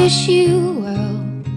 wish you well.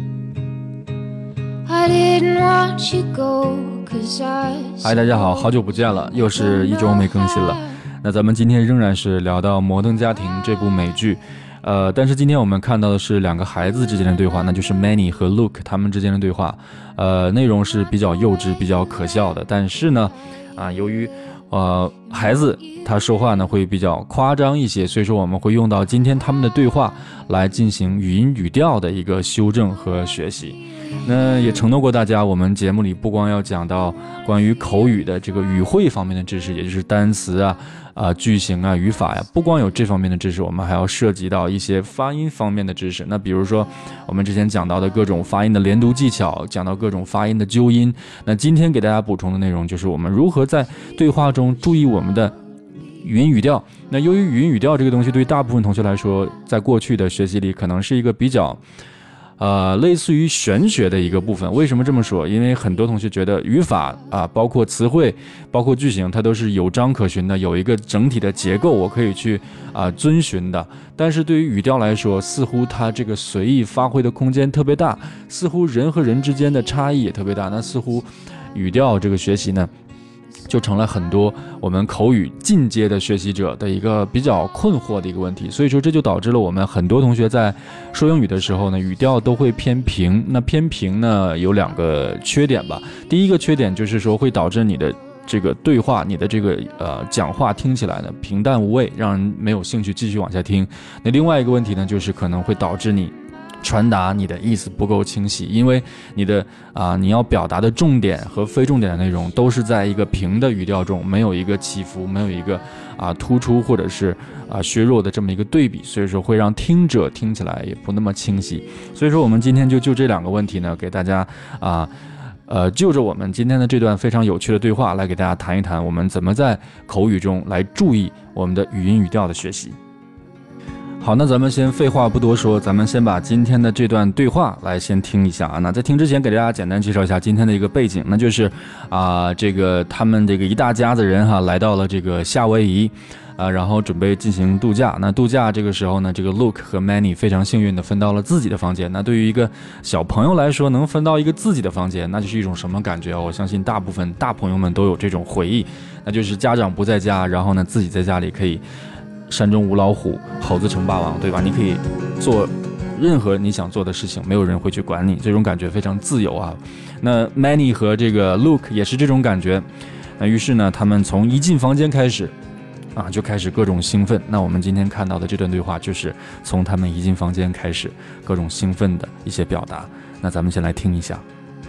I didn't want you go, 'cause I... 嗨，大家好，好久不见了，又是一周没更新了。那咱们今天仍然是聊到《摩登家庭》这部美剧，但是今天我们看到的是两个孩子之间的对话，那就是 Manny 和 Luke 他们之间的对话，内容是比较幼稚、比较可笑的，但是呢，由于孩子他说话呢会比较夸张一些，所以说我们会用到今天他们的对话来进行语音语调的一个修正和学习。那也承诺过大家，我们节目里不光要讲到关于口语的这个语汇方面的知识，也就是单词句型语法呀，不光有这方面的知识，我们还要涉及到一些发音方面的知识。那比如说我们之前讲到的各种发音的连读技巧，讲到各种发音的纠音，那今天给大家补充的内容就是我们如何在对话中注意我们的语音语调。那由于语音语调这个东西对于大部分同学来说，在过去的学习里可能是一个比较类似于玄学的一个部分。为什么这么说？因为很多同学觉得语法包括词汇，包括句型，它都是有章可循的，有一个整体的结构，我可以去遵循的。但是对于语调来说，似乎它这个随意发挥的空间特别大，似乎人和人之间的差异也特别大。那似乎语调这个学习呢，就成了很多我们口语进阶的学习者的一个比较困惑的一个问题。所以说这就导致了我们很多同学在说英语的时候呢，语调都会偏平。那偏平呢有两个缺点吧。第一个缺点就是说会导致你的这个对话，你的这个讲话听起来呢平淡无味，让人没有兴趣继续往下听。那另外一个问题呢，就是可能会导致你传达你的意思不够清晰，因为你的你要表达的重点和非重点的内容都是在一个平的语调中，没有一个起伏，没有一个突出或者是削弱的这么一个对比，所以说会让听者听起来也不那么清晰。所以说我们今天就这两个问题呢，给大家就着我们今天的这段非常有趣的对话来给大家谈一谈，我们怎么在口语中来注意我们的语音语调的学习。好，那咱们先废话不多说，咱们先把今天的这段对话来先听一下那在听之前给大家简单介绍一下今天的一个背景，那就是这个他们这个一大家子人来到了这个夏威夷然后准备进行度假。那度假这个时候呢，这个 Luke 和 Manny 非常幸运的分到了自己的房间。那对于一个小朋友来说，能分到一个自己的房间，那就是一种什么感觉我相信大部分大朋友们都有这种回忆，那就是家长不在家，然后呢自己在家里可以山中无老虎，猴子称霸王，对吧？你可以做任何你想做的事情，没有人会去管你，这种感觉非常自由那 Manny 和这个 Luke 也是这种感觉。那于是呢，他们从一进房间开始就开始各种兴奋。那我们今天看到的这段对话就是从他们一进房间开始各种兴奋的一些表达。那咱们先来听一下。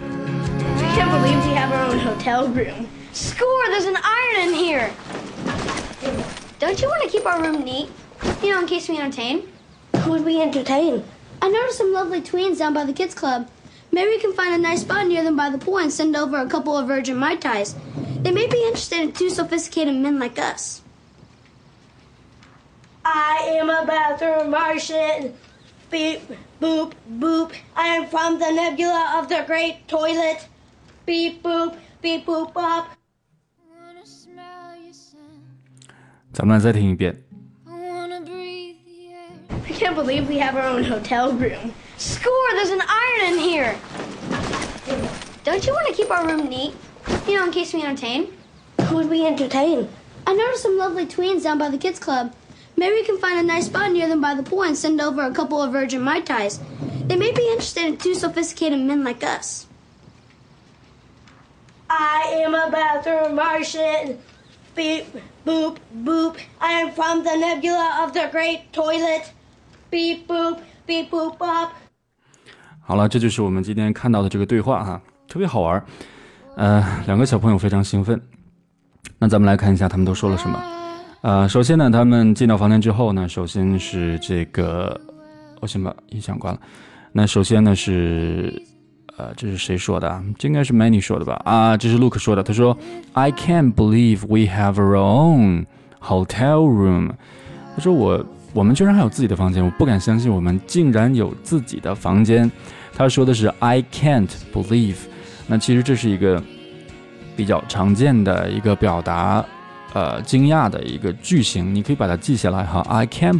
I can't believe we have our own hotel room. Score, there's an iron in here. Don't you want to keep our room neat? You know, in case we entertain. Who would we entertain? I noticed some lovely tweens down by the kids club. Maybe we can find a nice spot near them by the pool and send over a couple of virgin Mai Tais. They may be interested in two sophisticated men like us. I am a bathroom Martian. Beep, boop, boop. I am from the nebula of the great toilet. Beep, boop, beep, boop, bop. 咱们再听一遍。 I can't believe we have our own hotel room. Score, there's an iron in here. Don't you want to keep our room neat? You know, in case we entertain. Who would we entertain? I noticed some lovely tweens down by the kids club. Maybe we can find a nice spot near them by the pool and send over a couple of virgin Mai Tais. They may be interested in two sophisticated men like us. I am a bathroom Martian. Beep, boop, boop. I am from the nebula of the great toilet. Beep, boop, beep, boop, bop. 好了，这就是我们今天看到的这个对话特别好玩。两个小朋友非常兴奋。那咱们来看一下他们都说了什么。首先呢，他们进到房间之后呢，首先是这个，我先把音响关了。那首先呢是这是谁说的这应该是 Manny 说的吧这是 Luke 说的。他说 I can't believe we have our own hotel room。 他说我们居然还有自己的房间，我不敢相信我们竟然有自己的房间。他说的是 I can't believe。 那其实这是一个比较常见的一个表达惊讶的一个句型，你可以把它记下来哈。I can't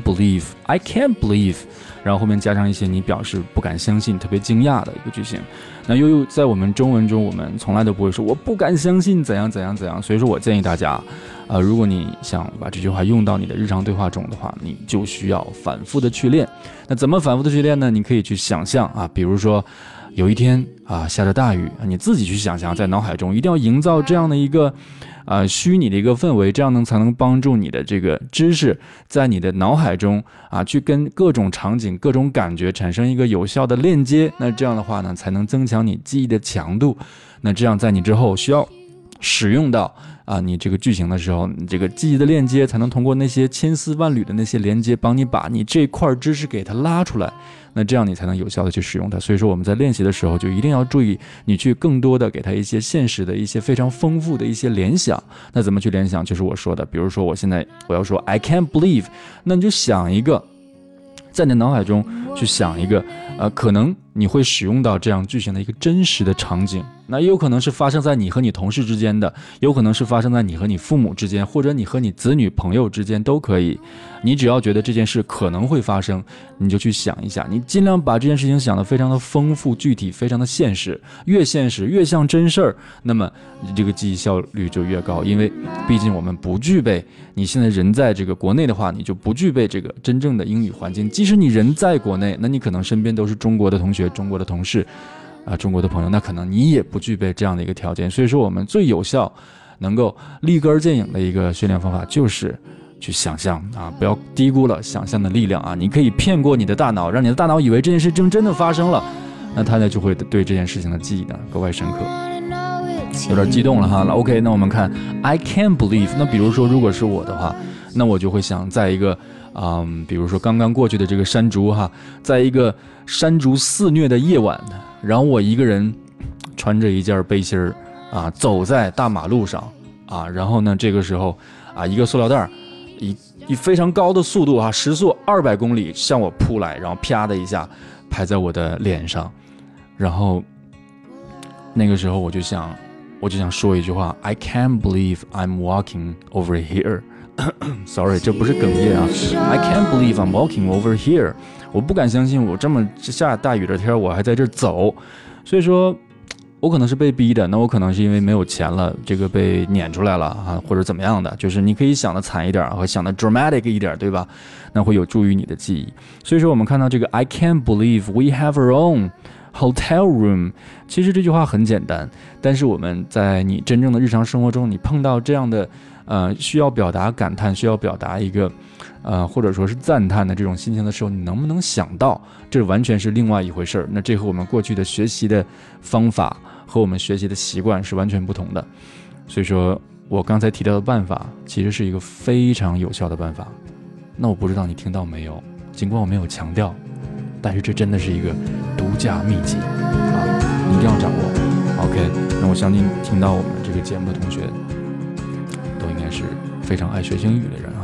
believe，然后后面加上一些你表示不敢相信、特别惊讶的一个句型。那又在我们中文中，我们从来都不会说我不敢相信怎样怎样怎样。所以说我建议大家，如果你想把这句话用到你的日常对话中的话，你就需要反复的去练。那怎么反复的去练呢？你可以去想象啊，比如说有一天啊下着大雨，你自己去想象，在脑海中一定要营造这样的一个虚拟的一个氛围，这样才能帮助你的这个知识在你的脑海中去跟各种场景、各种感觉产生一个有效的链接。那这样的话呢，才能增强你记忆的强度。那这样在你之后需要使用到你这个句型的时候，你这个记忆的链接才能通过那些千丝万缕的那些连接，帮你把你这块知识给它拉出来。那这样你才能有效的去使用它。所以说我们在练习的时候就一定要注意，你去更多的给它一些现实的一些非常丰富的一些联想。那怎么去联想？就是我说的，比如说我要说 I can't believe， 那你就想一个，在你的脑海中去想一个可能你会使用到这样句型的一个真实的场景。那也有可能是发生在你和你同事之间的，有可能是发生在你和你父母之间，或者你和你子女朋友之间都可以。你只要觉得这件事可能会发生，你就去想一下，你尽量把这件事情想得非常的丰富具体，非常的现实，越现实越像真事儿，那么这个记忆效率就越高。因为毕竟我们不具备，你现在人在这个国内的话，你就不具备这个真正的英语环境。即使你人在国内，那你可能身边都是中国的同学、中国的同事中国的朋友，那可能你也不具备这样的一个条件。所以说我们最有效能够立竿见影的一个训练方法就是去想象不要低估了想象的力量你可以骗过你的大脑，让你的大脑以为这件事真的发生了，那它呢就会对这件事情的记忆呢格外深刻。有点激动了哈。OK， 那我们看 I can't believe， 那比如说如果是我的话，那我就会想在一个比如说刚刚过去的这个山竹在一个山竹肆虐的夜晚，然后我一个人穿着一件背心走在大马路上然后呢这个时候一个塑料袋以非常高的速度时速200公里向我扑来，然后啪的一下拍在我的脸上，然后那个时候我就想说一句话 I can't believe I'm walking over here Sorry， 这不是哽咽I can't believe I'm walking over here， 我不敢相信我这么下大雨的天我还在这走。所以说我可能是被逼的，那我可能是因为没有钱了，这个被撵出来了或者怎么样的，就是你可以想的惨一点和想的 dramatic 一点，对吧？那会有助于你的记忆。所以说我们看到这个 I can't believe we have our own hotel room， 其实这句话很简单，但是我们在你真正的日常生活中，你碰到这样的需要表达感叹，需要表达一个或者说是赞叹的这种心情的时候，你能不能想到，这完全是另外一回事儿。那这和我们过去的学习的方法和我们学习的习惯是完全不同的。所以说我刚才提到的办法其实是一个非常有效的办法。那我不知道你听到没有，尽管我没有强调，但是这真的是一个独家秘籍你一定要掌握。 OK， 那我相信听到我们这个节目的同学都应该是非常爱学英语的人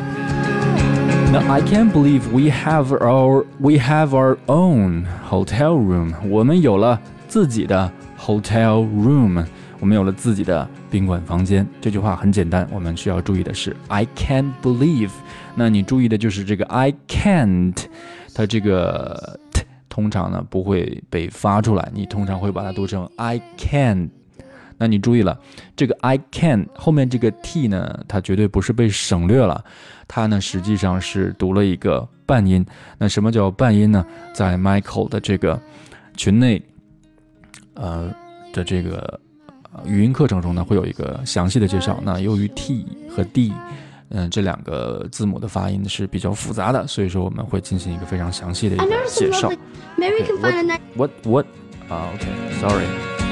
OK， 那 I can't believe we have our own hotel room， 我们有了自己的 hotel room， 我们有了自己的宾馆房间。这句话很简单，我们需要注意的是 I can't believe， 那你注意的就是这个 I can't， 它这个 t 通常呢不会被发出来，你通常会把它读成 I can。那你注意了，这个 I can 后面这个 t 呢，它绝对不是被省略了，它呢实际上是读了一个半音。那什么叫半音呢？在 Michael 的这个群内的这个语音课程中呢，会有一个详细的介绍。那由于 t 和 d这两个字母的发音是比较复杂的，所以说我们会进行一个非常详细的一个介绍。 Maybe we can find a nice. What? OK, sorry.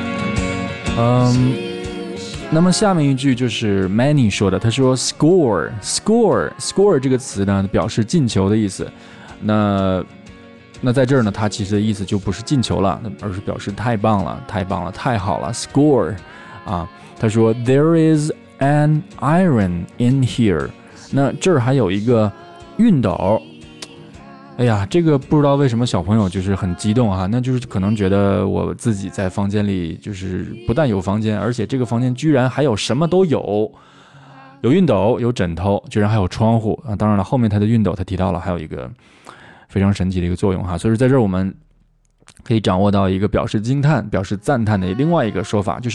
那么下面一句就是 Manny 说的，他说 score 这个词呢表示进球的意思。那在这儿呢，它其实的意思就不是进球了，而是表示太棒了，太好了 score 他说 there is an iron in here， 那这儿还有一个熨斗。哎呀，这个不知道为什么小朋友就是很激动那就是可能觉得我自己在房间里就是不但有房间，而且这个房间居然还有什么都有。 有熨斗，有枕头，居然还有窗户啊！当然了，后面它的熨斗他提到了还有一个非常神奇的一个作用哈，所以在这儿我们可以掌握到一个表示惊叹、表示赞叹的另外一个说法，就是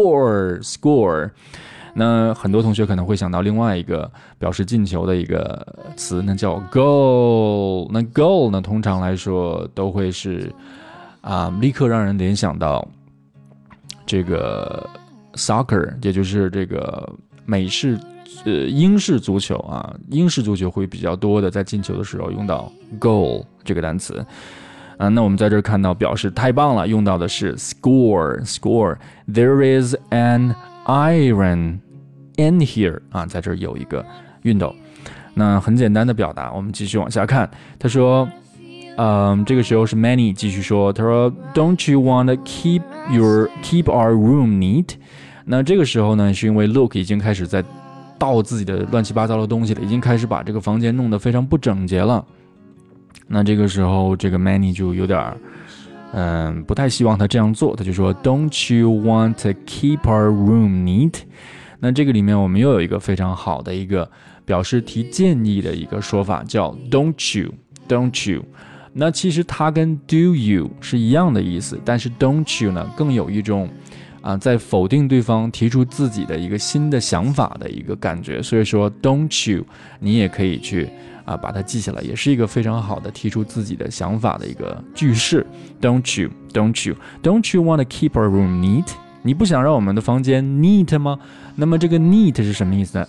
score。那很多同学可能会想到另外一个表示进球的一个词，那叫 goal。那 goal 呢，通常来说都会是立刻让人联想到这个 soccer， 也就是这个英式足球啊，英式足球会比较多的在进球的时候用到 goal 这个单词。那我们在这儿看到表示太棒了，用到的是 score。There is an iron in here 啊，在这儿有一个熨斗。那很简单的表达，我们继续往下看。他说，这个时候是 Manny 继续说，他说 Don't you want to keep our room neat？ 那这个时候呢，是因为 Luke 已经开始在倒自己的乱七八糟的东西了，已经开始把这个房间弄得非常不整洁了。那这个时候，这个 Manny 就有点不太希望他这样做，他就说 Don't you want to keep our room neat？ 那这个里面我们又有一个非常好的一个表示提建议的一个说法，叫 Don't you。那其实它跟 Do you 是一样的意思，但是 Don't you 呢更有一种在否定对方提出自己的一个新的想法的一个感觉，所以说 Don't you 你也可以去把它记下来，也是一个非常好的提出自己的想法的一个句式。Don't you want to keep our room neat？ 你不想让我们的房间 neat 吗？那么这个 neat 是什么意思呢？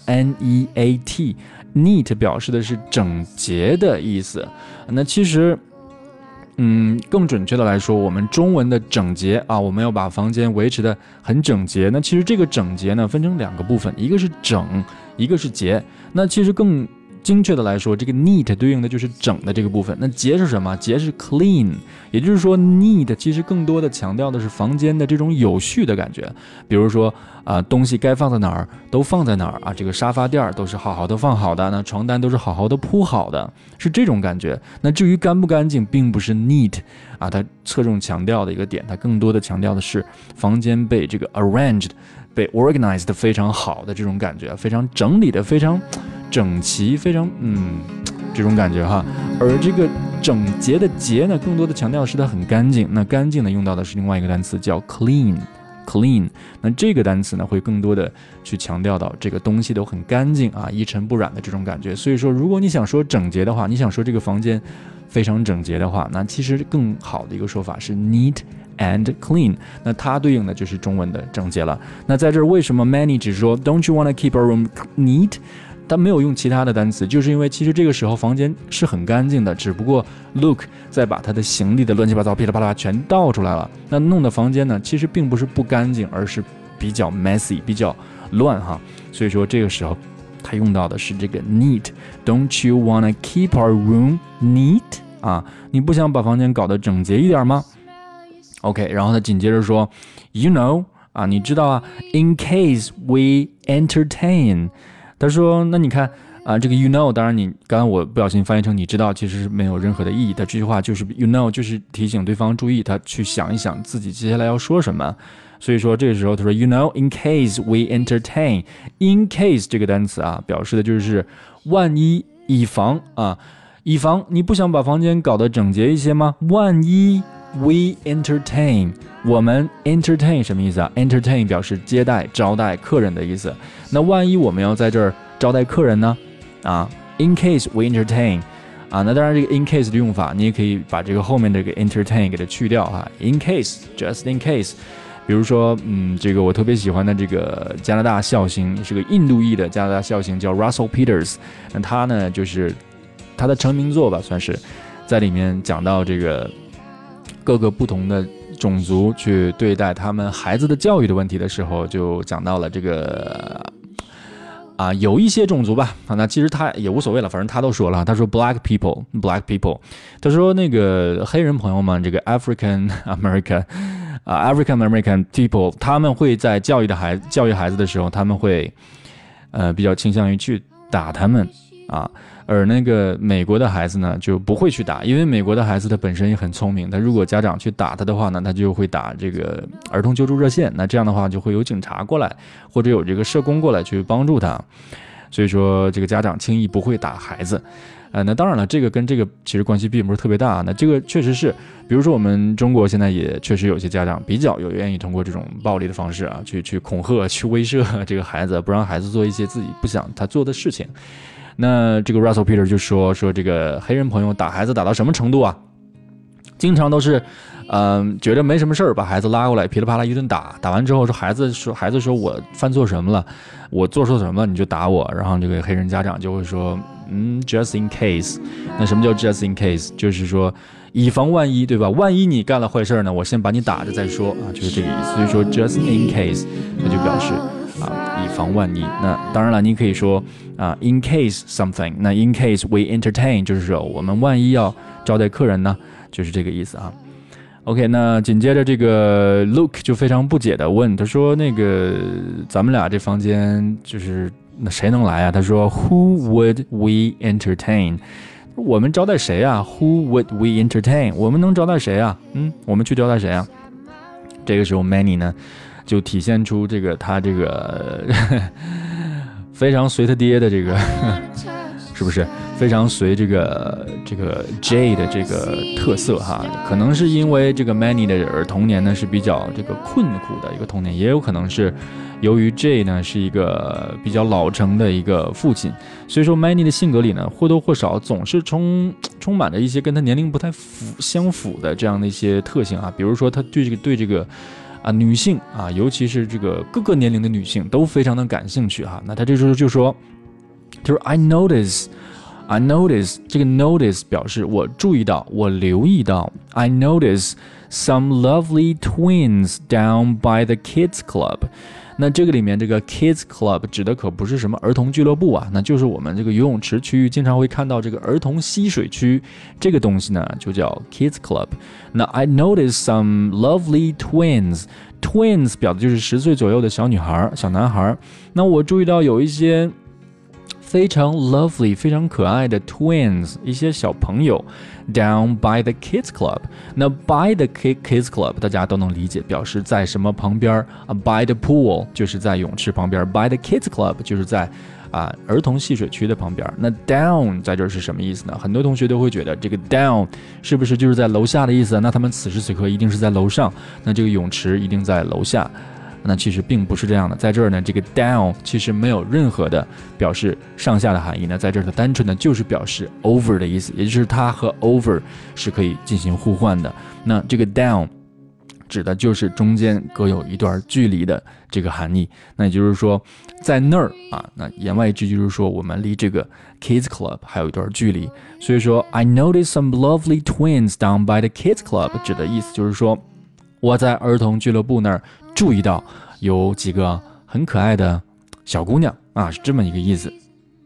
N-E-A-T neat 表示的是整洁的意思。那其实更准确的来说，我们中文的整洁我们要把房间维持的很整洁。那其实这个整洁呢分成两个部分，一个是整，一个是洁。那其实更精确的来说，这个 neat 对应的就是整的这个部分。那洁是什么？洁是 clean， 也就是说 neat 其实更多的强调的是房间的这种有序的感觉。比如说东西该放在哪儿都放在哪儿这个沙发垫都是好好的放好的，那床单都是好好的铺好的，是这种感觉。那至于干不干净，并不是 neat 它侧重强调的一个点，它更多的强调的是房间被这个 arranged， 被 organized 的非常好的这种感觉，非常整理的非常整齐，非常这种感觉哈。而这个整洁的洁呢，更多的强调的是它很干净。那干净呢，用到的是另外一个单词叫 clean。那这个单词呢，会更多的去强调到这个东西都很干净一尘不染的这种感觉。所以说，如果你想说整洁的话，你想说这个房间非常整洁的话，那其实更好的一个说法是 neat and clean。那它对应的就是中文的整洁了。那在这儿为什么 Manny 只说 Don't you want to keep our room neat？他没有用其他的单词，就是因为其实这个时候房间是很干净的，只不过 Luke 在把他的行李的乱七八糟噼里啪啦全倒出来了，那弄的房间呢其实并不是不干净，而是比较 messy， 比较乱哈。所以说这个时候他用到的是这个 neat。 Don't you wanna keep our room neat？ 你不想把房间搞得整洁一点吗？ OK， 然后他紧接着说 You know你知道in case we entertain。他说那你看这个 you know， 当然你刚刚我不小心翻译成你知道，其实是没有任何的意义。他这句话就是 you know， 就是提醒对方注意，他去想一想自己接下来要说什么。所以说这个时候他说 you know in case we entertain。 in case 这个单词表示的就是万一，以防以防你不想把房间搞得整洁一些吗？万一 we entertain， 我们 entertain 什么意思entertain 表示接待招待客人的意思。那万一我们要在这儿招待客人呢in case we entertain那当然这个 in case 的用法你也可以把这个后面这个 entertain 给它去掉in case just in case。 比如说这个我特别喜欢的这个加拿大笑星，是个印度裔的加拿大笑星，叫 Russell Peters。 那他呢就是他的成名作吧，算是在里面讲到这个各个不同的种族去对待他们孩子的教育的问题的时候，就讲到了这个有一些种族吧那其实他也无所谓了，反正他都说了，他说 black people， 他说那个黑人朋友们，这个 African American people， 他们会在教育孩子的时候，他们会比较倾向于去打他们啊，而那个美国的孩子呢就不会去打，因为美国的孩子他本身也很聪明，他如果家长去打他的话呢，他就会打这个儿童救助热线，那这样的话就会有警察过来，或者有这个社工过来去帮助他，所以说这个家长轻易不会打孩子。那当然了，这个跟这个其实关系并不是特别大。那这个确实是，比如说我们中国现在也确实有些家长比较愿意通过这种暴力的方式啊，去恐吓、去威慑这个孩子，不让孩子做一些自己不想他做的事情。那这个 Russell Peter 就说这个黑人朋友打孩子打到什么程度啊？经常都是，觉得没什么事儿，把孩子拉过来噼里啪啦一顿打，打完之后孩子说我犯错什么了，我做错什么了你就打我，然后这个黑人家长就会说，just in case。那什么叫 just in case？ 就是说以防万一，对吧？万一你干了坏事呢，我先把你打着再说啊，就是这个意思。所以说 just in case， 那就表示以防万一。那当然了，你可以说in case something， 那 in case we entertain 就是说我们万一要招待客人呢，就是这个意思啊。OK， 那紧接着这个 Luke 就非常不解的问，他说那个咱们俩这房间就是那谁能来啊？他说 Who would we entertain？ 我们招待谁啊 ？Who would we entertain？ 我们能招待谁啊？我们去招待谁啊？这个时候 Manny 呢就体现出这个他这个非常随他爹的这个是不是非常随这个 Jay 的这个特色哈？可能是因为这个 Manny 的童年呢是比较这个困苦的一个童年，也有可能是由于 Jay 呢是一个比较老成的一个父亲，所以说 Manny 的性格里呢或多或少总是充满着一些跟他年龄不太相符的这样的一些特性啊，比如说他对这个女性啊，尤其是这个各个年龄的女性都非常的感兴趣哈。那他这时候就说 I notice 这个 notice 表示我注意到，我留意到 I notice some lovely twins down by the kids club。 那这个里面这个 kids club 指的可不是什么儿童俱乐部啊，那就是我们这个游泳池区域经常会看到这个儿童嬉水区，这个东西呢就叫 kids club。 那 I noticed some lovely twins 表的就是10岁左右的小女孩小男孩，那我注意到有一些非常 lovely 非常可爱的 twins 一些小朋友 down by the kids club。 那 by the kids club 大家都能理解，表示在什么旁边by the pool 就是在泳池旁边， by the kids club 就是在儿童戏水区的旁边。那 down 在这是什么意思呢？很多同学都会觉得这个 down 是不是就是在楼下的意思？那他们此时此刻一定是在楼上，那这个泳池一定在楼下。那其实并不是这样的，在这儿呢，这个 down 其实没有任何的表示上下的含义呢，在这儿它单纯的就是表示 over 的意思，也就是它和 over 是可以进行互换的。那这个 down 指的就是中间隔有一段距离的这个含义，那也就是说在那儿那言外之意就是说我们离这个 kids club 还有一段距离。所以说 I noticed some lovely twins down by the kids club 指的意思就是说我在儿童俱乐部那儿注意到有几个很可爱的小姑娘是这么一个意思。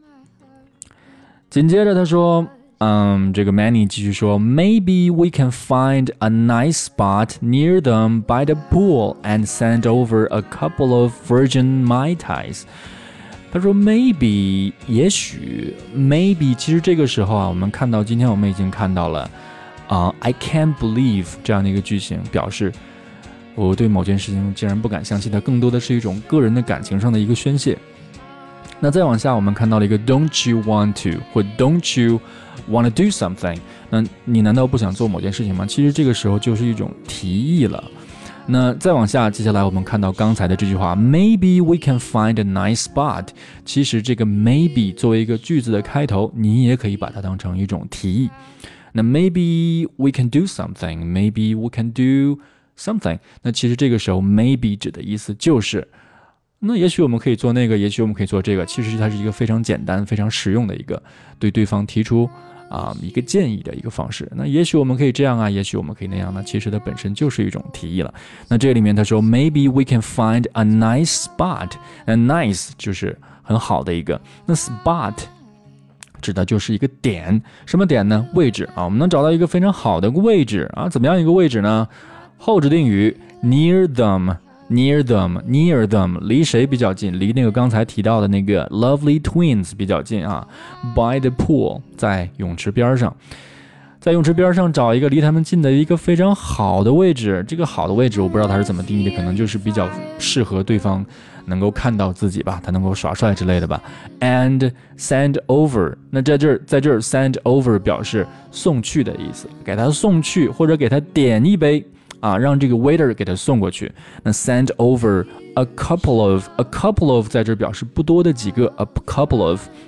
紧接着他说这个 Manny 继续说 Maybe we can find a nice spot near them by the pool and send over a couple of virgin Mai Tais。 他说 maybe 也许 maybe 其实这个时候我们看到今天我们已经看到了I can't believe 这样的一个句型，表示我对某件事情竟然不敢相信，它更多的是一种个人的感情上的一个宣泄。那再往下我们看到了一个 don't you want to 或 don't you want to do something， 那你难道不想做某件事情吗？其实这个时候就是一种提议了。那再往下，接下来我们看到刚才的这句话 Maybe we can find a nice spot， 其实这个 maybe 作为一个句子的开头，你也可以把它当成一种提议。那 maybe we can do something， maybe we can do something， 那其实这个时候 maybe 指的意思就是那也许我们可以做那个，也许我们可以做这个，其实它是一个非常简单非常实用的一个对对方提出一个建议的一个方式。那也许我们可以这样也许我们可以那样呢，其实它本身就是一种提议了。那这里面他说 Maybe we can find a nice spot， 那 nice 就是很好的一个，那 spot指的就是一个点，什么点呢？位置我们能找到一个非常好的位置怎么样一个位置呢？后置定语 near them near them 离谁比较近？离那个刚才提到的那个 lovely twins 比较近啊。by the pool 在泳池边上，在泳池边上找一个离他们近的一个非常好的位置。这个好的位置我不知道它是怎么定义的，可能就是比较适合对方能够看到自己吧，他能够耍帅之类的吧。And send over 那在这儿 send over 表示送去的意思，给他送去或者给他点一杯啊，让这个 waiter 给他送过去。那 send over a couple of 在这表示不多的几个 a couple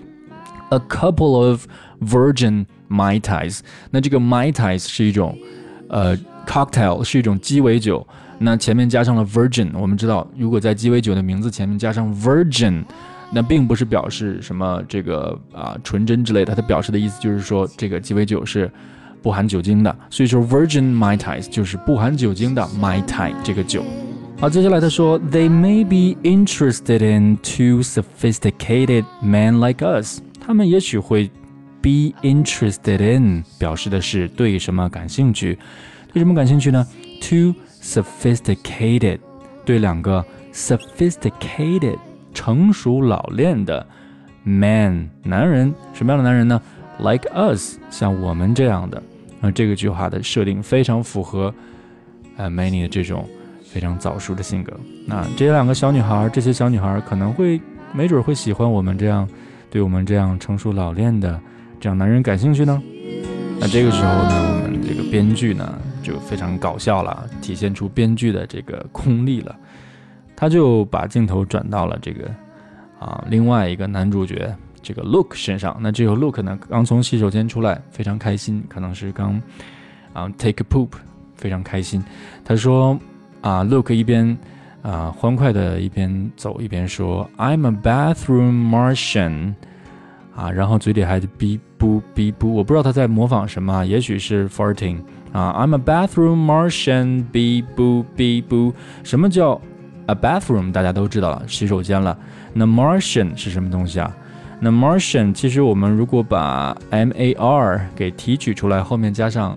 of virgin mai tais。那这个 mai tais 是一种cocktail， 是一种鸡尾酒。那前面加上了 virgin， 我们知道如果在鸡尾酒的名字前面加上 virgin， 那并不是表示什么这个纯真之类的，它表示的意思就是说这个鸡尾酒是不含酒精的，所以说 virgin mai tais 就是不含酒精的 mai tai 这个酒。好，接下来他说 They may be interested in two sophisticated men like us， 他们也许会 be interested in 表示的是对什么感兴趣，对什么感兴趣呢？ Two sophisticated 对两个 sophisticated 成熟老练的 man 男人，什么样的男人呢？ like us 像我们这样的。这个句话的设定非常符合Manny 的这种非常早熟的性格。那这两个小女孩，这些小女孩可能会没准会喜欢我们这样，对我们这样成熟老练的这样男人感兴趣呢。那这个时候呢，我们这个编剧呢就非常搞笑了，体现出编剧的这个功力了。他就把镜头转到了这个另外一个男主角这个 Luke 身上。那这个 Luke 呢刚从洗手间出来，非常开心，可能是刚take a poop， 非常开心。他说Luke 一边欢快的一边走一边说 I'm a bathroom Martian 然后嘴里还哔咕哔咕，我不知道他在模仿什么，也许是 farting I'm a bathroom Martian 哔咕哔咕。什么叫 a bathroom 大家都知道了，洗手间了。那 Martian 是什么东西啊？那 Martian 其实我们如果把 MAR 给提取出来，后面加上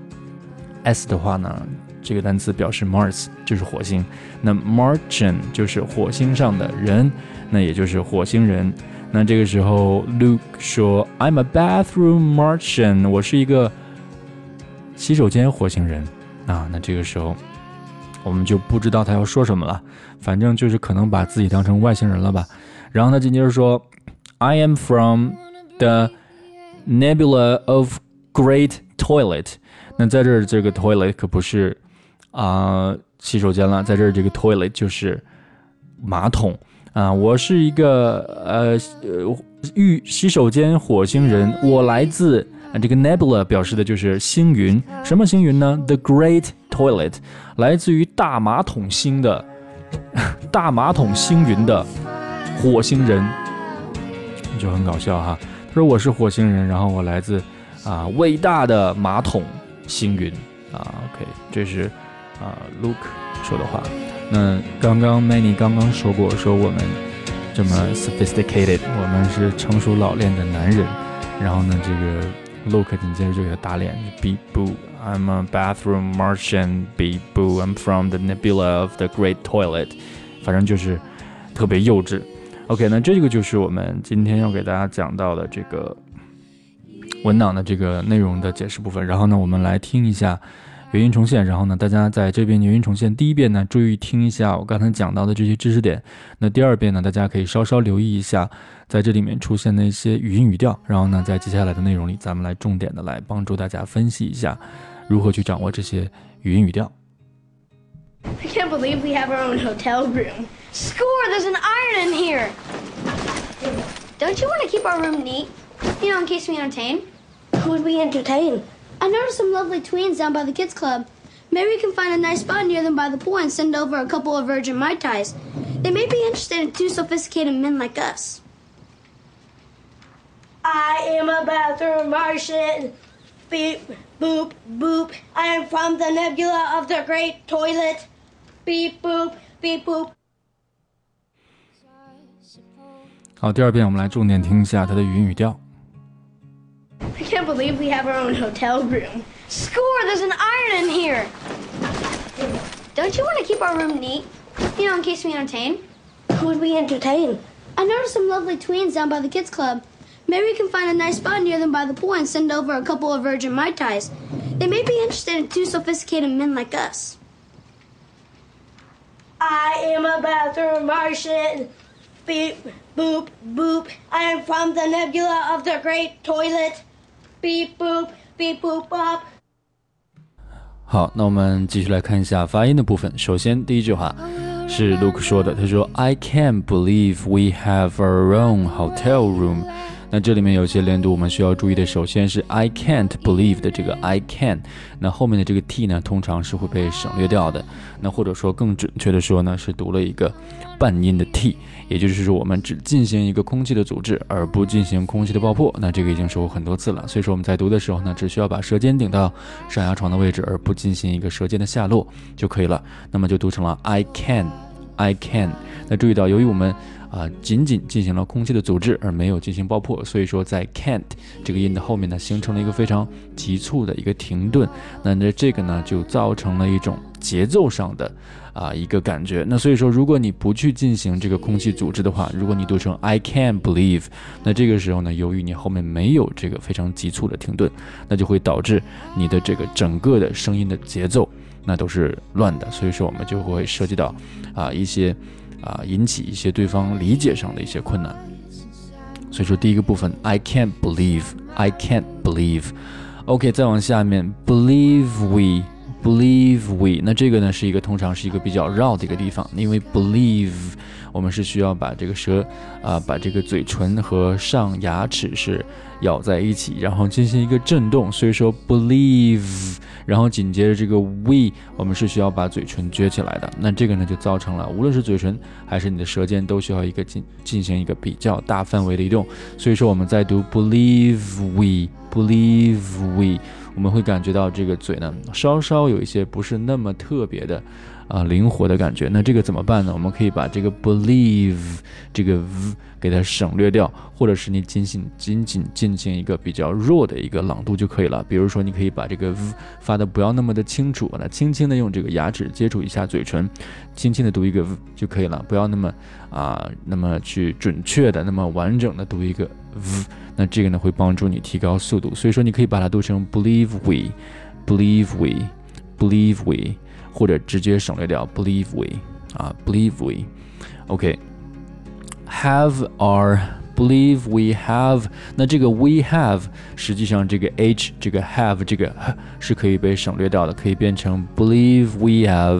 S 的话呢，这个单词表示 Mars 就是火星。那 Martian 就是火星上的人，那也就是火星人。那这个时候 Luke 说 I'm a bathroom Martian， 我是一个洗手间火星人那这个时候我们就不知道他要说什么了，反正就是可能把自己当成外星人了吧。然后他紧接着说 I am from the nebula of great toilet。 那在这儿这个 toilet 可不是洗手间了，在这儿这个 toilet 就是马桶我是一个洗手间火星人，我来自这个 nebula 表示的就是星云。什么星云呢？ The Great Toilet 来自于大马桶星的大马桶星云的火星人，就很搞笑哈。他说我是火星人，然后我来自伟大的马桶星云OK， 这是Luke 说的话。那刚刚 Manny 刚刚说过，说我们这么 sophisticated， 我们是成熟老练的男人。然后呢，这个 Luke 紧接着就给他打脸 ，Beep boo, I'm a bathroom Martian. Beep boo, I'm from the nebula of the great toilet. 反正就是特别幼稚。OK， 那这个就是我们今天要给大家讲到的这个文档的这个内容的解释部分。然后呢，我们来听一下原音重现，然后呢，大家在这边原音重现第一遍呢，注意听一下我刚才讲到的这些知识点。那第二遍呢，大家可以稍稍留意一下，在这里面出现的一些语音语调。然后呢，在接下来的内容里，咱们来重点的来帮助大家分析一下，如何去掌握这些语音语调。 I can't believe we have our own hotel room. Score! There's an iron in here. Don't you want to keep our room neat? You know, in case we entertain. Who would we entertain? I noticed some lovely tweens down by the kids' club. Maybe we can find a nice spot near them by the pool and send over a couple of virgin mai tais. They may be interested in two sophisticated men like us. I am a bathroom Martian. Beep, boop, boop. I am from the nebula of the great toilet. Beep, boop, beep, boop. 好，第二遍我们来重点听一下它的语音语调。 I can't believe we have our own hotel room. Score! There's an iron in here. Don't you want to keep our room neat? in case we entertain. Who would we entertain? I noticed some lovely tweens down by the kids club. Maybe we can find a nice spot near them by the pool and send over a couple of virgin Mai Tais. They may be interested in two sophisticated men like us. I am a bathroom Martian. Beep, boop, boop. I am from the nebula of the great toilet. Beep, boop, beep, boop, bop. 好，那我们继续来看一下发音的部分。首先第一句话是 Luke 说的，他说 I can't believe we have our own hotel room。那这里面有些连读我们需要注意的，首先是 I can't believe 的这个 I can， 那后面的这个 t 呢通常是会被省略掉的，那或者说更准确的说呢是读了一个半音的 t， 也就是说我们只进行一个空气的阻滞而不进行空气的爆破，那这个已经说过很多次了，所以说我们在读的时候呢只需要把舌尖顶到上牙床的位置而不进行一个舌尖的下落就可以了，那么就读成了 I can。那注意到由于我们仅仅进行了空气的阻滞而没有进行爆破，所以说在 can't 这个音的后面呢形成了一个非常急促的一个停顿，那这个呢就造成了一种节奏上的一个感觉，那所以说如果你不去进行这个空气阻滞的话，如果你读成 I can't believe， 那这个时候呢由于你后面没有这个非常急促的停顿，那就会导致你的这个整个的声音的节奏那都是乱的，所以说我们就会涉及到一些引起一些对方理解上的一些困难。所以说第一个部分 I can't believe OK， 再往下面 believe we， 那这个呢是一个通常是一个比较绕的一个地方，因为 believe 我们是需要把这个舌把这个嘴唇和上牙齿是咬在一起，然后进行一个震动，所以说 believe， 然后紧接着这个 we 我们是需要把嘴唇撅起来的，那这个呢就造成了无论是嘴唇还是你的舌尖都需要一个进行一个比较大范围的移动，所以说我们在读 believe we， 我们会感觉到这个嘴呢稍稍有一些不是那么特别的灵活的感觉，那这个怎么办呢？我们可以把这个 believe 这个 v 给它省略掉，或者是你仅仅进行一个比较弱的一个朗读就可以了，比如说你可以把这个 v 发的不要那么的清楚，那轻轻的用这个牙齿接触一下嘴唇，轻轻的读一个 v 就可以了，不要那么去准确的那么完整的读一个 v， 那这个呢会帮助你提高速度，所以说你可以把它读成 believe we， 或者直接省略掉 believe we OK， have our believe we have， 那这个 we have 实际上这个 h 这个 have 这个是可以被省略掉的，可以变成 believe we have，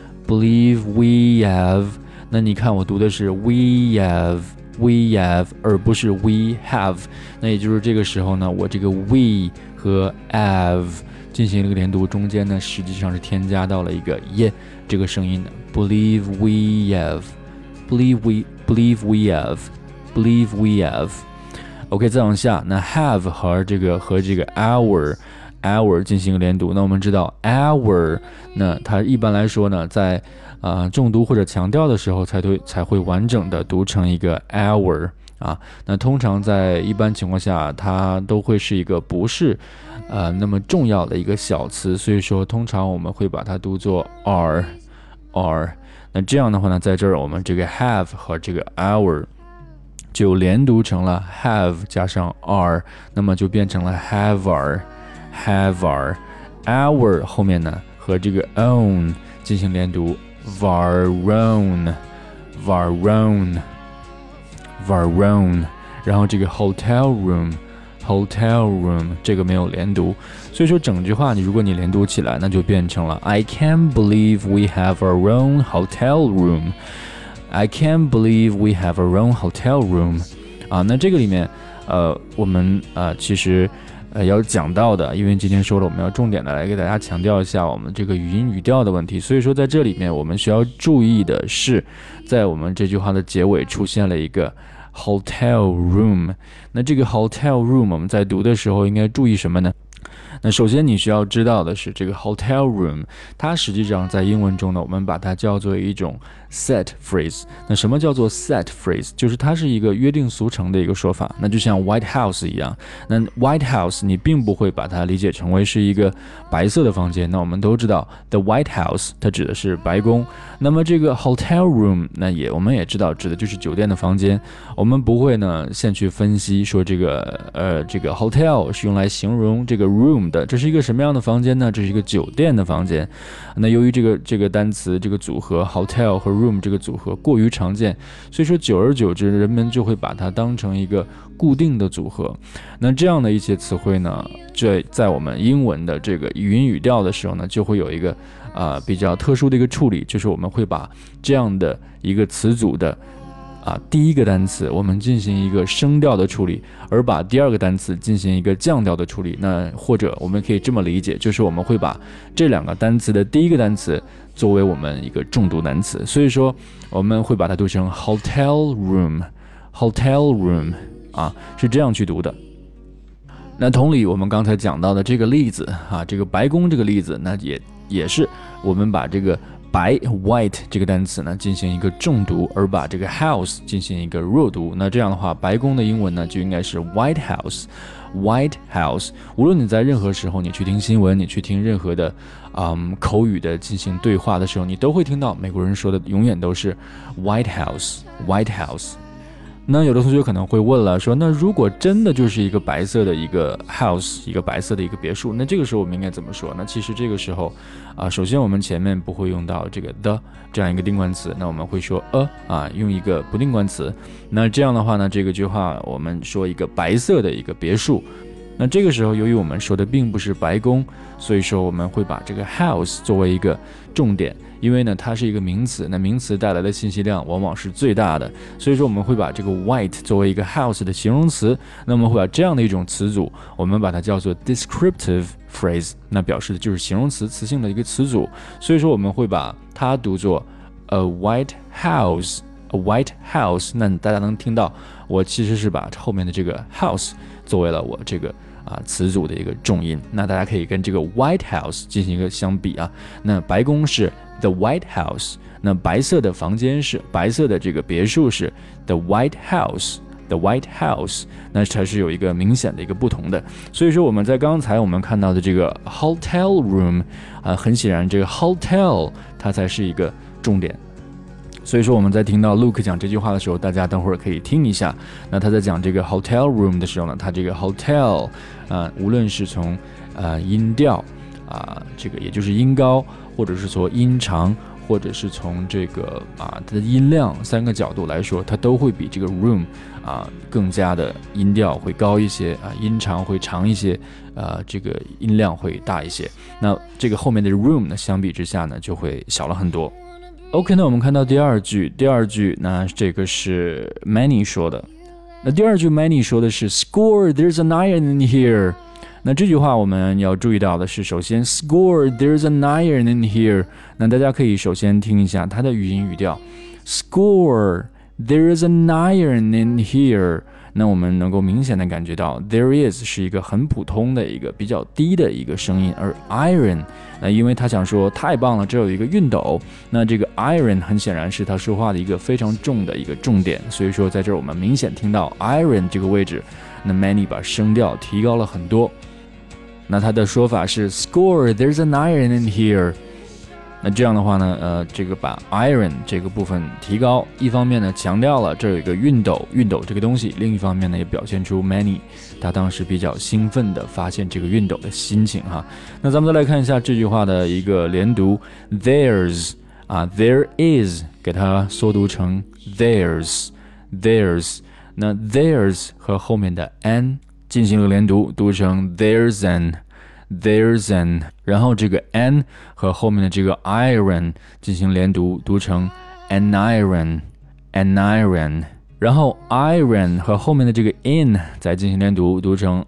那你看我读的是 we have 而不是 we have， 那也就是这个时候呢我这个 we 和 have进行了一个连读，中间呢实际上是添加到了一个耶这个声音的 believe we have OK， 再往下，那 have 和这个 our 进行连读，那我们知道 our 那它一般来说呢在重读或者强调的时候才会完整的读成一个 our那通常在一般情况下它都会是一个不是那么重要的一个小词，所以说通常我们会把它读作 are， 那这样的话呢在这儿我们这个 have 和这个 our 就连读成了 have 加上 are， 那么就变成了 have our our 后面呢和这个 own 进行连读 varown， 然后这个 hotel room 这个没有连读，所以说整句话如果你连读起来那就变成了 I can't believe we have our own hotel room， I can't believe we have our own hotel room 那这个里面我们其实要讲到的，因为今天说了我们要重点的来给大家强调一下我们这个语音语调的问题，所以说在这里面我们需要注意的是在我们这句话的结尾出现了一个 hotel room， 那这个 hotel room 我们在读的时候应该注意什么呢？ 那首先你需要知道的是，这个 hotel room 它实际上在英文中呢，我们把它叫做一种 set phrase。那什么叫做 set phrase？ 就是它是一个约定俗成的一个说法。那就像 White House 一样，那 White House 你并不会把它理解成为是一个白色的房间。那我们都知道 The White House 它指的是白宫。那么这个 hotel room 那我们也知道指的就是酒店的房间。我们不会呢先去分析说这个hotel 是用来形容这个 room 的，这是一个什么样的房间呢？这是一个酒店的房间。那由于这个单词这个组合 hotel 和 room 这个组合过于常见，所以说久而久之人们就会把它当成一个固定的组合。那这样的一些词汇呢，在我们英文的这个语音语调的时候呢，就会有一个比较特殊的一个处理，就是我们会把这样的一个词组的第一个单词我们进行一个升调的处理，而把第二个单词进行一个降调的处理。那或者我们可以这么理解，就是我们会把这两个单词的第一个单词作为我们一个重读单词，所以说我们会把它读成 hotel room 是这样去读的。那同理，我们刚才讲到的这个例子这个白宫这个例子，那也是我们把这个白 white 这个单词呢进行一个重读，而把这个 house 进行一个弱读。那这样的话，白宫的英文呢就应该是 White House。无论你在任何时候，你去听新闻，你去听任何的口语的进行对话的时候，你都会听到美国人说的永远都是 White House。那有的同学可能会问了，说那如果真的就是一个白色的一个 house， 一个白色的一个别墅，那这个时候我们应该怎么说？那其实这个时候首先我们前面不会用到这个 the 这样一个定冠词，那我们会说用一个不定冠词。那这样的话呢，这个句话我们说一个白色的一个别墅。那这个时候由于我们说的并不是白宫，所以说我们会把这个 house 作为一个重点，因为呢它是一个名词，那名词带来的信息量往往是最大的，所以说我们会把这个 white 作为一个 house 的形容词。那我们会把这样的一种词组，我们把它叫做 descriptive phrase， 那表示的就是形容词词性的一个词组，所以说我们会把它读作 a white house。那大家能听到我其实是把后面的这个 house 作为了我这个词组的一个重音。那大家可以跟这个 White House 进行一个相比那白宫是 The White House， 那白色的房间是白色的这个别墅是 The White House， 那才是有一个明显的一个不同的。所以说我们在刚才我们看到的这个 hotel room 很显然这个 hotel 它才是一个重点。所以说我们在听到 Luke 讲这句话的时候，大家等会儿可以听一下。那他在讲这个 hotel room 的时候呢，他这个 hotel 无论是从音调这个也就是音高，或者是从音长，或者是从这个它的音量三个角度来说，它都会比这个 room 更加的音调会高一些音长会长一些这个音量会大一些。那这个后面的 room 呢，相比之下呢就会小了很多。OK， 那我们看到第二句，那这个是 Manny 说的。那第二句 Manny 说的是 Score, there's an iron in here。那这句话我们要注意到的是，首先 Score, there's an iron in here。那大家可以首先听一下它的语音语调 Score, there's an iron in here。那我们能够明显的感觉到 there is 是一个很普通的一个比较低的一个声音，而 iron 因为他想说太棒了，这有一个熨斗，那这个 iron 很显然是他说话的一个非常重的一个重点，所以说在这儿我们明显听到 iron 这个位置，那 Manny 把声调提高了很多。那他的说法是 Score, there's an iron in here。那这样的话呢，这个把 iron 这个部分提高，一方面呢强调了这有一个熨斗这个东西，另一方面呢也表现出 Manny 他当时比较兴奋的发现这个熨斗的心情那咱们再来看一下这句话的一个连读 ，there's there is 给它缩读成 there's。那 there's 和后面的 an 进行了连读，读成 there's an，然后这个 an 和后面的这个 iron 进行连读，读成 an iron， 然后 iron 和后面的这个 in 再进行连读，读成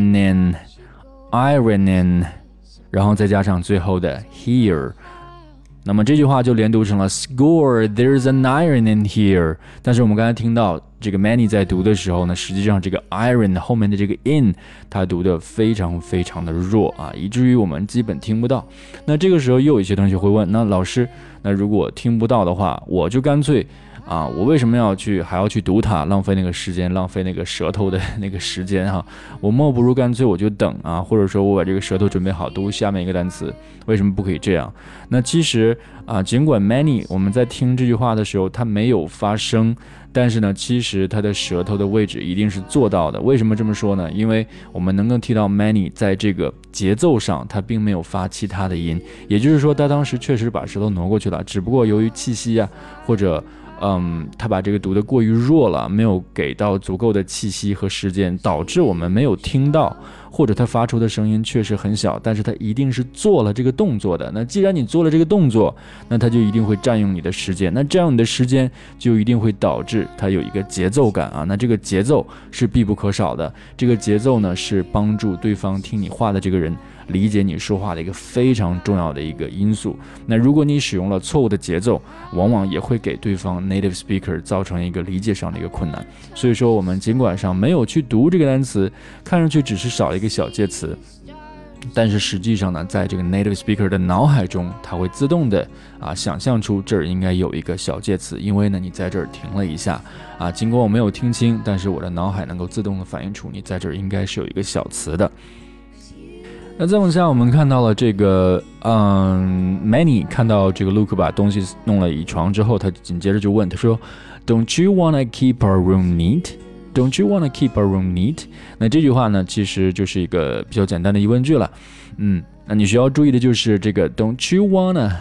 ironing， 然后再加上最后的 here， 那么这句话就连读成了 Score, there's an iron in here。但是我们刚才听到这个 Manny 在读的时候呢，实际上这个 iron 后面的这个 in 它读的非常非常的弱啊，以至于我们基本听不到。那这个时候又有一些同学会问，那老师，那如果听不到的话，我就干脆我为什么还要去读它，浪费那个时间，浪费那个舌头的那个时间哈？我莫不如干脆我就等或者说我把这个舌头准备好读下面一个单词，为什么不可以这样？那其实尽管 Manny 我们在听这句话的时候它没有发声，但是呢，其实它的舌头的位置一定是做到的。为什么这么说呢？因为我们能够听到 Manny 在这个节奏上，他并没有发其他的音，也就是说，他当时确实把舌头挪过去了，只不过由于气息或者他把这个读得过于弱了，没有给到足够的气息和时间，导致我们没有听到，或者他发出的声音确实很小，但是他一定是做了这个动作的。那既然你做了这个动作，那他就一定会占用你的时间，那这样你的时间就一定会导致他有一个节奏感那这个节奏是必不可少的。这个节奏呢，是帮助对方听你话的这个人理解你说话的一个非常重要的一个因素。那如果你使用了错误的节奏，往往也会给对方 native speaker 造成一个理解上的一个困难。所以说我们尽管上没有去读这个单词，看上去只是少了一个小介词，但是实际上呢，在这个 native speaker 的脑海中，它会自动的想象出这儿应该有一个小介词，因为呢你在这儿停了一下尽管我没有听清，但是我的脑海能够自动的反映出你在这儿应该是有一个小词的。那再往下，我们看到了这个Manny 看到这个 Luke 把东西弄了一床之后，他紧接着就问他说 Don't you wanna keep our room neat? Don't you wanna keep our room neat? 那这句话呢，其实就是一个比较简单的疑问句了。那你需要注意的就是这个 Don't you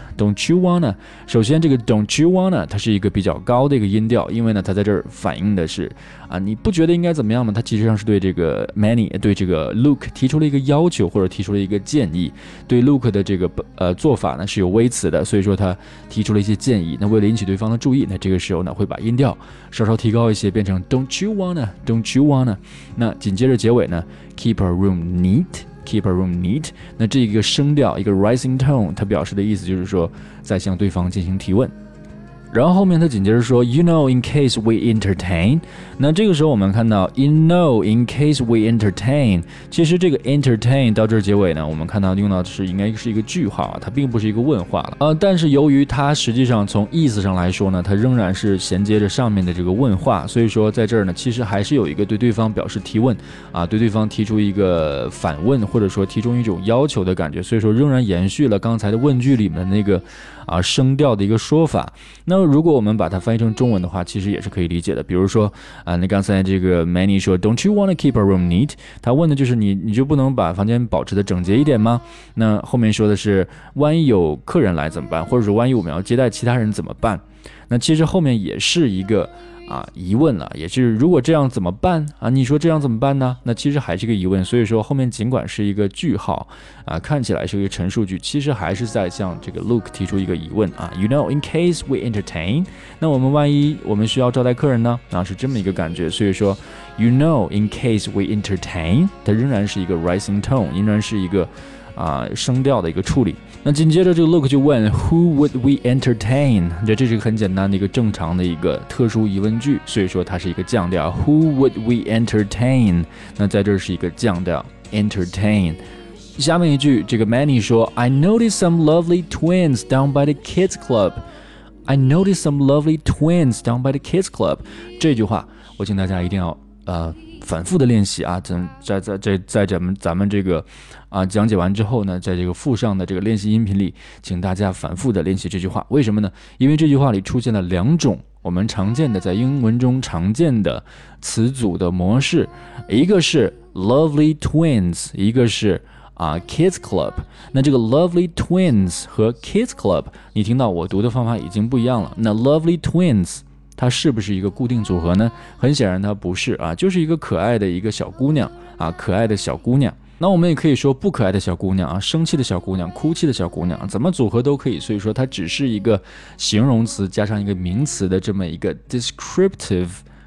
wanna。首先这个 Don't you wanna 它是一个比较高的一个音调，因为呢它在这儿反映的是你不觉得应该怎么样吗？它其实上是对这个 Manny 对这个 Luke 提出了一个要求，或者提出了一个建议。对 Luke 的这个做法呢是有微词的，所以说他提出了一些建议。那为了引起对方的注意，那这个时候呢会把音调稍稍提高一些，变成 Don't you wanna。那紧接着结尾呢 Keep our room neat。Keep our room neat。 那这个声调一个 rising tone， 它表示的意思就是说在向对方进行提问。然后后面他紧接着说 You know in case we entertain。 那这个时候我们看到 You know in case we entertain， 其实这个 entertain 到这儿结尾呢，我们看到用到的是应该是一个句号它并不是一个问话了但是由于它实际上从意思上来说呢，它仍然是衔接着上面的这个问话，所以说在这儿呢其实还是有一个对对方表示提问对对方提出一个反问，或者说提出一种要求的感觉，所以说仍然延续了刚才的问句里面的那个声调的一个说法。那如果我们把它翻译成中文的话，其实也是可以理解的。比如说那刚才这个 Manny 说 Don't you wanna keep our room neat？ 他问的就是你就不能把房间保持的整洁一点吗？那后面说的是万一有客人来怎么办，或者说万一我们要接待其他人怎么办？那其实后面也是一个疑问了，也是如果这样怎么办你说这样怎么办呢？那其实还是个疑问，所以说后面尽管是一个句号看起来是一个陈述句，其实还是在向这个 Luke 提出一个疑问You know in case we entertain， 那我们万一我们需要招待客人呢是这么一个感觉。所以说 You know in case we entertain 它仍然是一个 rising tone， 仍然是一个声调的一个处理。那紧接着这个 Luke 就问 Who would we entertain？ 这是一个很简单的一个正常的一个特殊疑问句，所以说它是一个降调 Who would we entertain？ 那在这是一个降调 entertain。 下面一句这个 Manny 说 I noticed some lovely twins down by the kids club。 I noticed some lovely twins down by the kids club。 这句话我请大家一定要反复的练习在咱们这个讲解完之后呢，在这个附上的这个练习音频里，请大家反复的练习这句话。为什么呢？因为这句话里出现了两种我们常见的在英文中常见的词组的模式，一个是 lovely twins， 一个是kids club。 那这个 lovely twins 和 kids club 你听到我读的方法已经不一样了。那 lovely twins它是不是一个固定组合呢？很显然它不是就是一个可爱的一个小姑娘可爱的小姑娘。那我们也可以说不可爱的小姑娘生气的小姑娘，哭泣的小姑娘，怎么组合都可以。所以说它只是一个形容词加上一个名词的这么一个 descriptive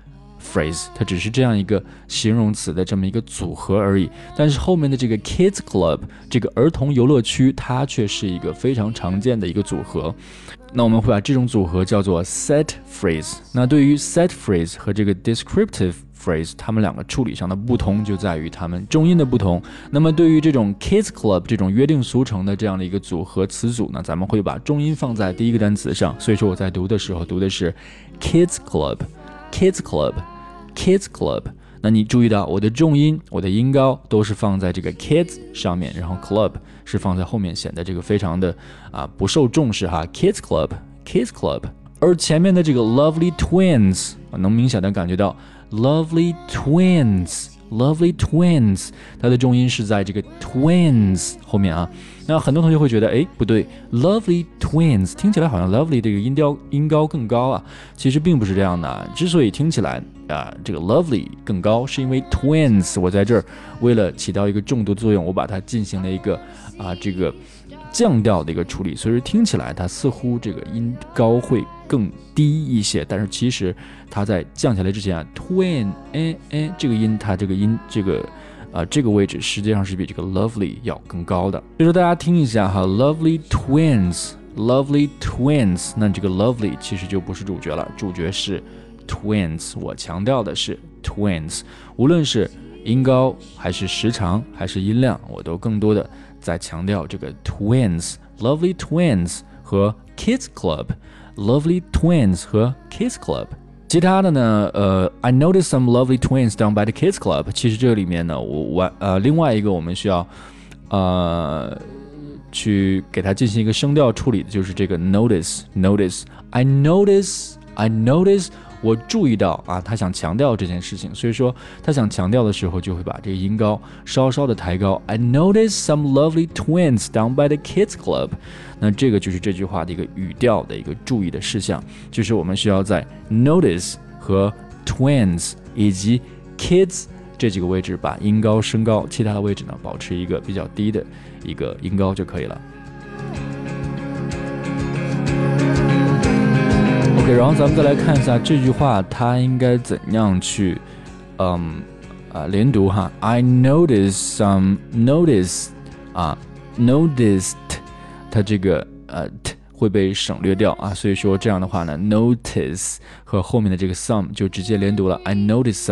phrase， 它只是这样一个形容词的这么一个组合而已。但是后面的这个 kids club 这个儿童游乐区，它却是一个非常常见的一个组合。那我们会把这种组合叫做 set phrase。那对于 set phrase 和这个 descriptive phrase， 它们两个处理上的不同就在于它们重音的不同。那么对于这种 kids club 这种约定俗成的这样的一个组合词组呢，咱们会把重音放在第一个单词上。所以说我在读的时候读的是 kids club kids club kids club。那你注意到我的重音，我的音高都是放在这个 kids 上面，然后 club 是放在后面，显得这个非常的不受重视哈。kids club kids club。而前面的这个 lovely twins 能明显的感觉到 lovely twins lovely twins， 它的重音是在这个 twins 后面啊。那很多同学会觉得，哎，不对 ，lovely twins 听起来好像 lovely 这个音高更高啊，其实并不是这样的啊。之所以听起来这个 lovely 更高，是因为 twins 我在这儿为了起到一个重读作用，我把它进行了一个这个降调的一个处理，所以说听起来它似乎这个音高会更低一些，但是其实它在降下来之前twin 这个音，它这个音这个位置实际上是比这个 lovely 要更高的。所以说大家听一下哈 lovely twins lovely twins， 那这个 lovely 其实就不是主角了，主角是 twins， 我强调的是 twins， 无论是音高还是时长还是音量，我都更多的在强调这个 twins lovely twins 和 kids club lovely twins 和 kids club。其他的呢I noticed some lovely twins down by the kids club， 其实这个里面呢另外一个我们需要去给它进行一个声调处理的就是这个 notice I notice 我注意到他想强调这件事情，所以说他想强调的时候就会把这个音高稍稍的抬高。I noticed some lovely twins down by the kids club。那这个就是这句话的一个语调的一个注意的事项，就是我们需要在 notice 和 twins 以及 kids 这几个位置把音高升高，其他的位置呢保持一个比较低的一个音高就可以了。OK， 然后咱们再来看一下这句话它应该怎样去连读哈。I noticed some noticed 它这个t 会被省略掉所以说这样的话呢 notice 和后面的这个 some 就直接连读了。I noticed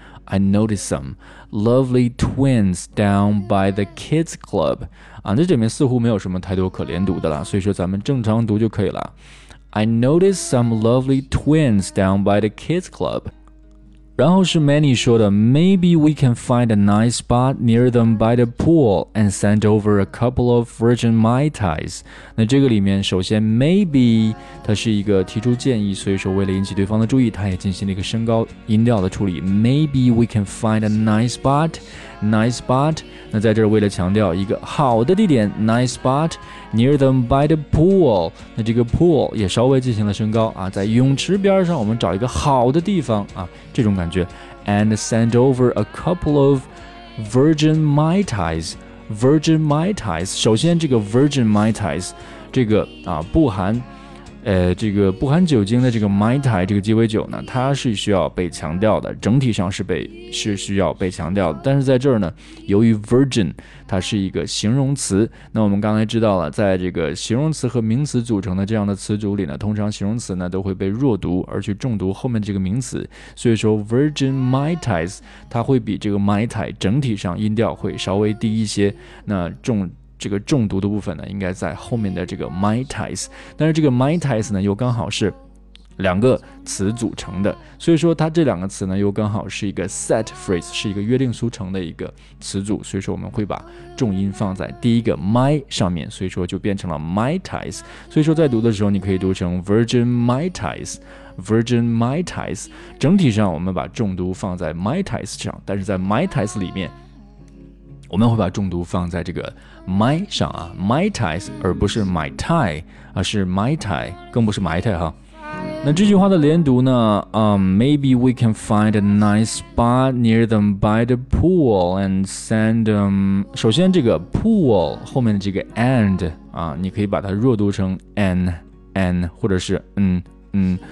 some lovely twins down by the kids club 这里面似乎没有什么太多可连读的了，所以说咱们正常读就可以了。I noticed some lovely twins down by the kids club。 然后是 Manny 说的 Maybe we can find a nice spot near them by the pool and send over a couple of virgin Mai Tais。 那这个里面首先 Maybe 它是一个提出建议，所以说为了引起对方的注意，它也进行了一个升高音调的处理。 Maybe we can find a nice spot那在这儿为了强调一个好的地点 nice spot near them by the pool， 那这个 pool 也稍微进行了升高在泳池边上我们找一个好的地方这种感觉。 and send over a couple of virgin Mai Tais。 virgin Mai Tais 首先这个 virgin Mai Tais 这个不含酒精的这个 Mai Tai 这个鸡尾酒呢，它是需要被强调的，整体上是需要被强调的。但是在这儿呢，由于 virgin 它是一个形容词，那我们刚才知道了，在这个形容词和名词组成的这样的词组里呢，通常形容词呢都会被弱读而去重读后面这个名词，所以说 virgin Mai Tais 它会比这个 Mai Tai 整体上音调会稍微低一些，那这个重读的部分呢，应该在后面的这个 Mai Tais， 但是这个 Mai Tais 呢，又刚好是两个词组成的，所以说它这两个词呢，又刚好是一个 set phrase， 是一个约定俗成的一个词组，所以说我们会把重音放在第一个 Mai 上面，所以说就变成了 Mai Tais。所以说在读的时候，你可以读成 Virgin Mai Tais。Virgin Mai Tais， 整体上我们把重读放在 Mai Tais 上，但是在 Mai Tais 里面，我们会把重读放在这个 Mai 上Mai Tais， 而不是 Mai Tai， 是 Mai Tai， 更不是 Mai Tai 哈。那这句话的连读呢？Maybe we can find a nice spot near them by the pool and send them。首先，这个 pool 后面的这个 and 你可以把它弱读成 an， 或者是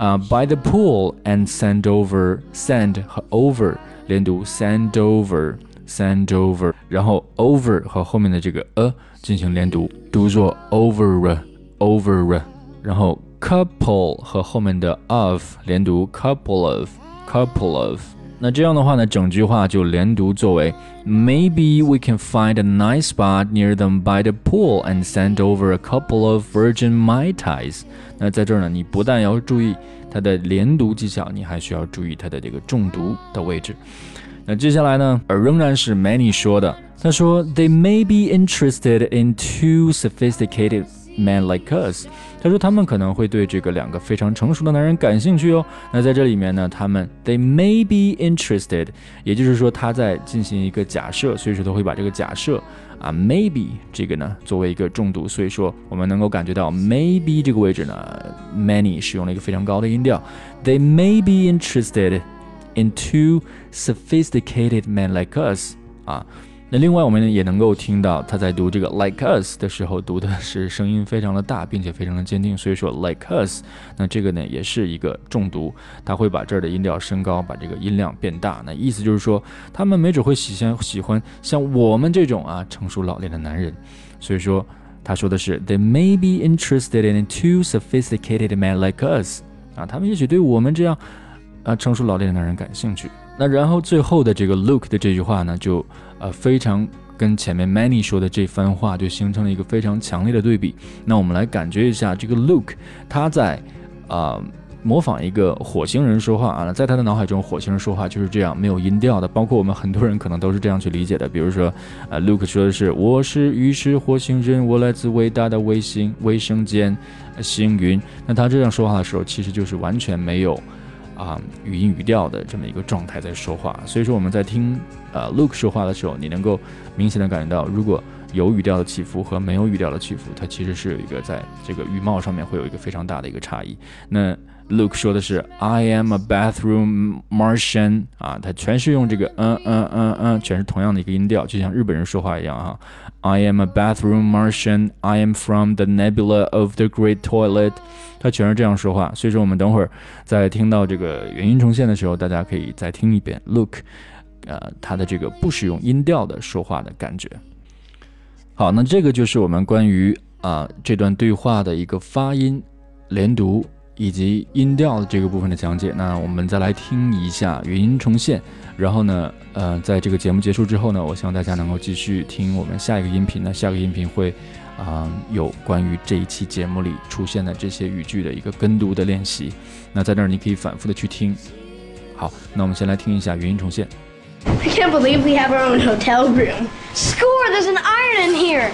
by the pool and send over send 和 over 连读 send over send over， 然后 over 和后面的这个进行连读，读作 over over， 然后 couple 和后面的 of 连读 couple of couple of。那这样的话呢，整句话就连读作为 Maybe we can find a nice spot near them by the pool and send over a couple of Virgin Mai Tais。那在这儿呢，你不但要注意它的连读技巧，你还需要注意它的这个重读的位置。那接下来呢，仍然是 Manny 说的，他说 They may be interested in two sophisticated men like us。他说他们可能会对这个两个非常成熟的男人感兴趣哦。那在这里面呢，他们 they may be interested， 也就是说他在进行一个假设，所以说他会把这个假设maybe 这个呢作为一个重读，所以说我们能够感觉到 maybe 这个位置呢 Manny 使用了一个非常高的音调。They may be interested in two sophisticated men like us。那另外我们也能够听到他在读这个 like us 的时候读的是声音非常的大，并且非常的坚定，所以说 like us， 那这个呢也是一个重读，他会把这儿的音调升高，把这个音量变大，那意思就是说他们没准会喜欢像我们这种成熟老练的男人，所以说他说的是 They may be interested in two sophisticated men like us， 他们也许对我们这样成熟老练的男人感兴趣。那然后最后的这个 Luke 的这句话呢，就非常跟前面 Manny 说的这番话就形成了一个非常强烈的对比。那我们来感觉一下这个 Luke 他在模仿一个火星人说话在他的脑海中火星人说话就是这样没有音调的，包括我们很多人可能都是这样去理解的。比如说Luke 说的是我是鱼是火星人，我来自伟大的卫生间星云，那他这样说话的时候其实就是完全没有语音语调的这么一个状态在说话，所以说我们在听Luke 说话的时候，你能够明显的感觉到，如果有语调的起伏和没有语调的起伏，它其实是有一个在这个语貌上面会有一个非常大的一个差异。那 Luke 说的是 I am a bathroom Martian 它全是用这个全是同样的一个音调，就像日本人说话一样I am a bathroom Martian, I am from the nebula of the great toilet， 他全是这样说话，所以说我们等会儿在听到这个原音重现的时候，大家可以再听一遍 Luke 他的这个不使用音调的说话的感觉。好，那这个就是我们关于这段对话的一个发音、连读以及音调的这个部分的讲解。那我们再来听一下原音重现，然后呢在这个节目结束之后呢，我希望大家能够继续听我们下一个音频。那下个音频会有关于这一期节目里出现的这些语句的一个跟读的练习，那在那儿你可以反复的去听。好，那我们先来听一下原音重现。 I can't believe we have our own hotel room. Score, there's an iron in here.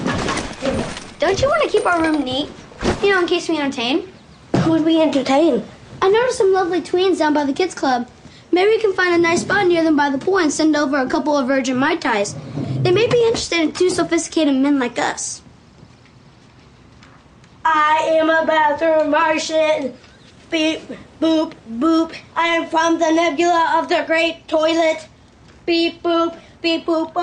Don't you want to keep our room neat? In case we entertain. Who would we entertain? I noticed some lovely tweens down by the kids club. Maybe we can find a nice spot near them by the pool and send over a couple of Virgin Mai Tais. They may be interested in two sophisticated men like us. I am a bathroom Martian. Beep, boop, boop. I am from the nebula of the great toilet. Beep, boop, beep, boop.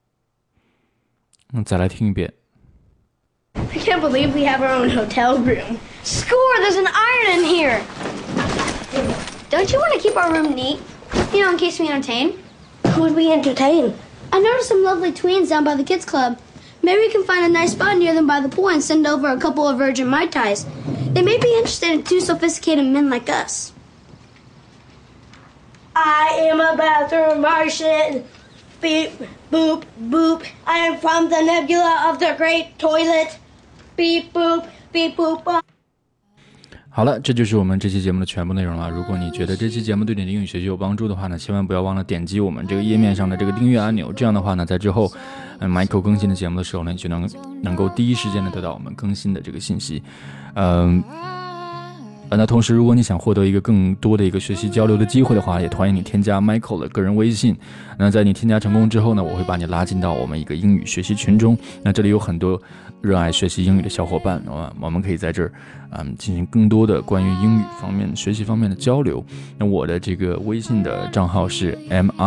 再来听一遍。 I can't believe we have our own hotel room. Score, there's an iron in here. Don't you want to keep our room neat? In case we entertain. Who would we entertain? I noticed some lovely tweens down by the kids club. Maybe we can find a nice spot near them by the pool and send over a couple of Virgin Mai Tais. They may be interested in two sophisticated men like us. I am a bathroom Martian. Beep, boop, boop. I am from the nebula of the great toilet. Beep, boop, beep, boop. 好了，这就是我们这期节目的全部内容了。如果你觉得这期节目对你的英语学习有帮助的话呢，千万不要忘了点击我们这个页面上的这个订阅按钮。这样的话呢，在之后Michael 更新的节目的时候呢，你就能够第一时间的得到我们更新的这个信息。那同时如果你想获得一个更多的一个学习交流的机会的话，也欢迎你添加 Michael 的个人微信。那在你添加成功之后呢，我会把你拉进到我们一个英语学习群中。那这里有很多热爱学习英语的小伙伴，我们可以在这儿进行更多的关于英语方面学习方面的交流。那我的这个微信的账号是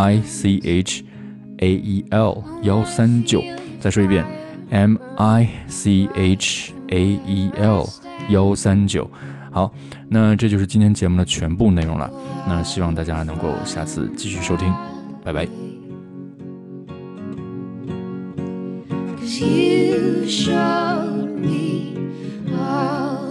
MICHAEL139，再说一遍 MICHAEL139。 好，那这就是今天节目的全部内容了。那希望大家能够下次继续收听，拜拜。 'Cause you showed me all